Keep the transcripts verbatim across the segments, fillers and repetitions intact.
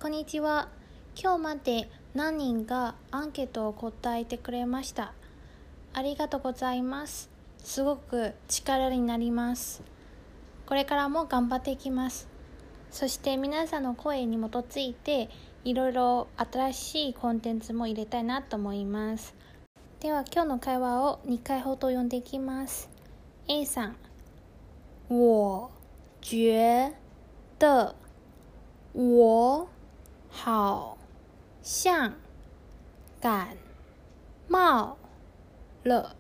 こんにちは。今日まで何人がアンケートを答えてくれました。ありがとうございます。すごく力になります。これからも頑張っていきます。そして皆さんの声に基づいていろいろ新しいコンテンツも入れたいなと思います。では今日の会話をにかいほど読んでいきます。A さん、我觉得我好像感冒了，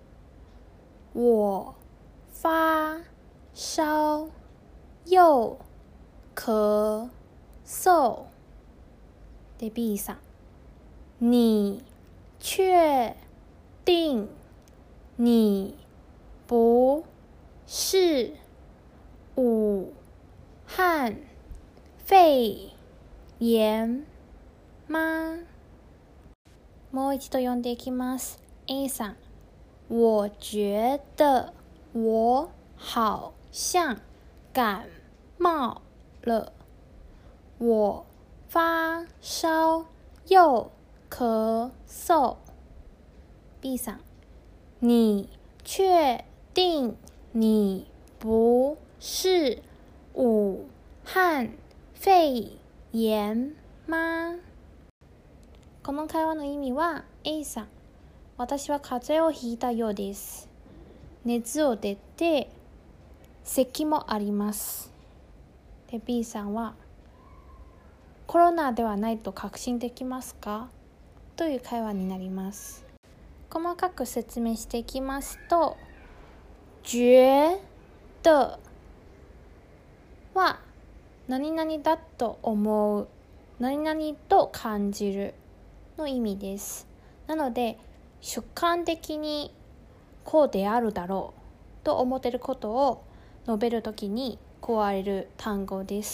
我发烧又咳嗽。で B さん、你确定你不是武汉肺炎吗？もう一度読んでいきます。A さん、我觉得我好像感冒了，我发烧又咳嗽。B さん、你确定你不是武汉肺炎吗？この会話の意味は A さん、私は風邪をひいたようです。熱を出て咳もあります。で B さんは、コロナではないと確信できますか？という会話になります。細かく説明していきますと、觉得は何々だと思う、何々と感じるの意味です。なので主観的にこうであるだろうと思っていることを述べるときに使われる単語です。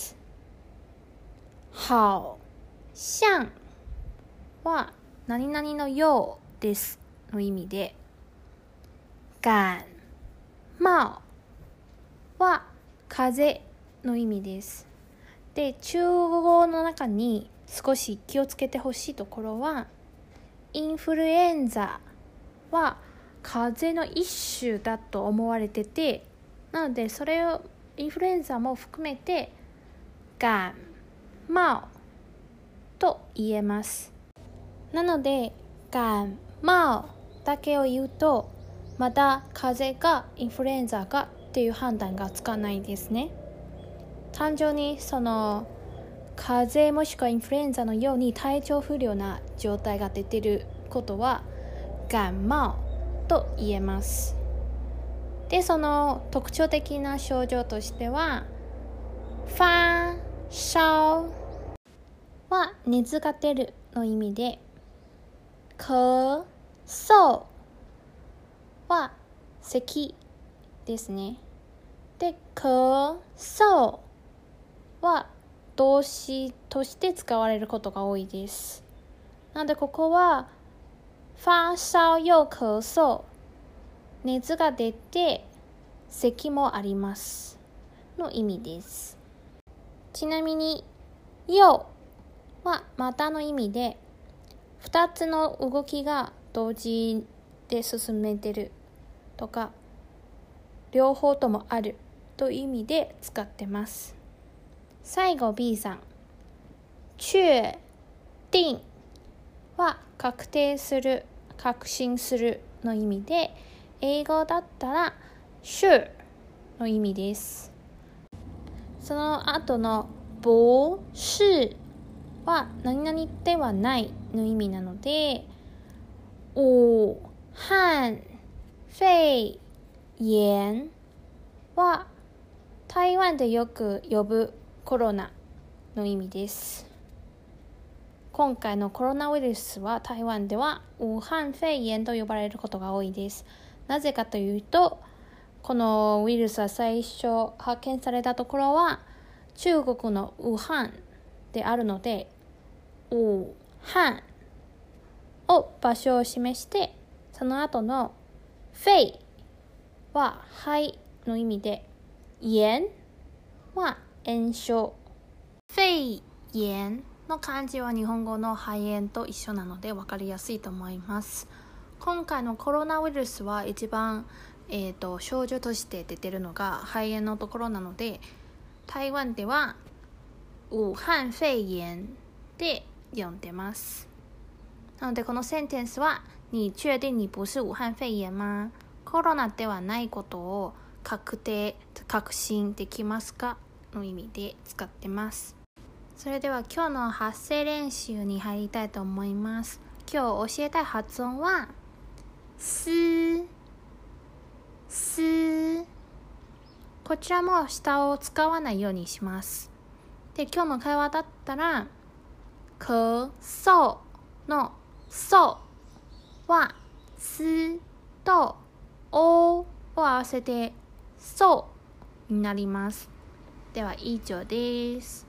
好像は何々のようですの意味で、感冒は風邪の意味です。で、中国語の中に少し気をつけてほしいところは、インフルエンザは風邪の一種だと思われてて、なのでそれをインフルエンザも含めて感冒と言えます。なので感冒だけを言うと、まだ風邪がインフルエンザがっていう判断がつかないですね。単純にその風邪もしくはインフルエンザのように体調不良な状態が出ていることは感冒と言えます。で、その特徴的な症状としては、发烧は熱が出るの意味で、咳嗽は咳ですね。で、咳嗽は動詞として使われることが多いです。なのでここは发烧又咳嗽、熱が出て咳もありますの意味です。ちなみに又はまたの意味で、ふたつの動きが同時で進めてるとか、両方ともあるという意味で使ってます。最後 B さん、確定は確定する、確信するの意味で、英語だったら sure の意味です。その後の不是は何々ではないの意味なので、武漢肺炎は台湾でよく呼ぶコロナの意味です。今回のコロナウイルスは台湾では武漢肺炎と呼ばれることが多いです。なぜかというと、このウイルスは最初発見されたところは中国の武漢であるので、武漢を場所を示して、その後の肺は肺の意味で、炎は炎症、肺炎の漢字は日本語の肺炎と一緒なので分かりやすいと思います。今回のコロナウイルスは一番、えーと、症状として出てるのが肺炎のところなので、台湾では武漢肺炎で呼んでます。なのでこのセンテンスは你确定你不是武漢肺炎吗？コロナではないことを確定、確信できますかの意味で使ってます。それでは今日の発声練習に入りたいと思います。今日教えたい発音はす、す。こちらも下を使わないようにします。で、今日の会話だったら咳嗽のそうはすとおを合わせてそうになります。では以上です。